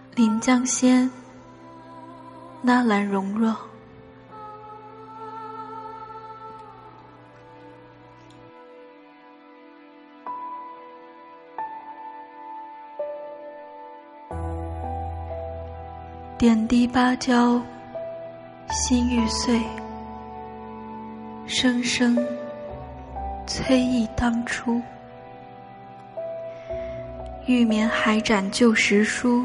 临江仙，纳兰容若。点滴芭蕉心欲碎，声声催忆当初。玉眠还展旧时书，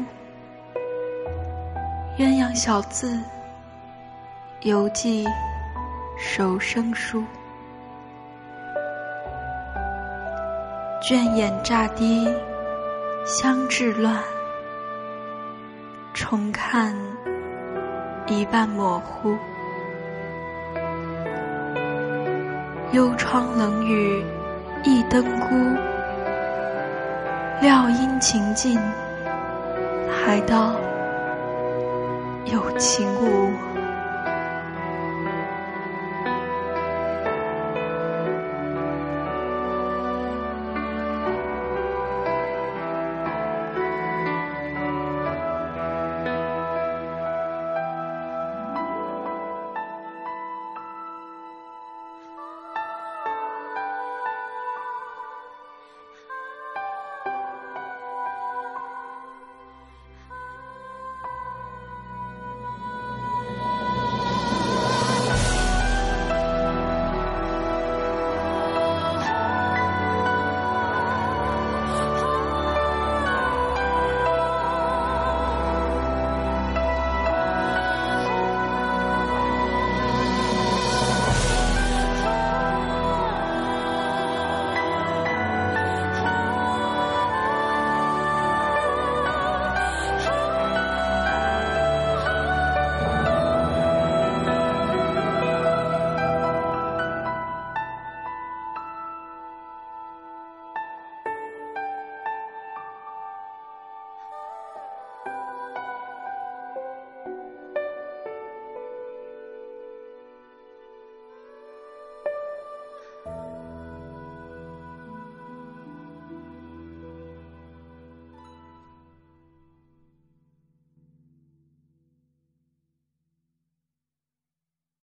鸳鸯小字犹记手生疏。倦眼乍低香至乱，重看一半模糊。幽窗冷雨一灯孤，料因情尽，还道有情无。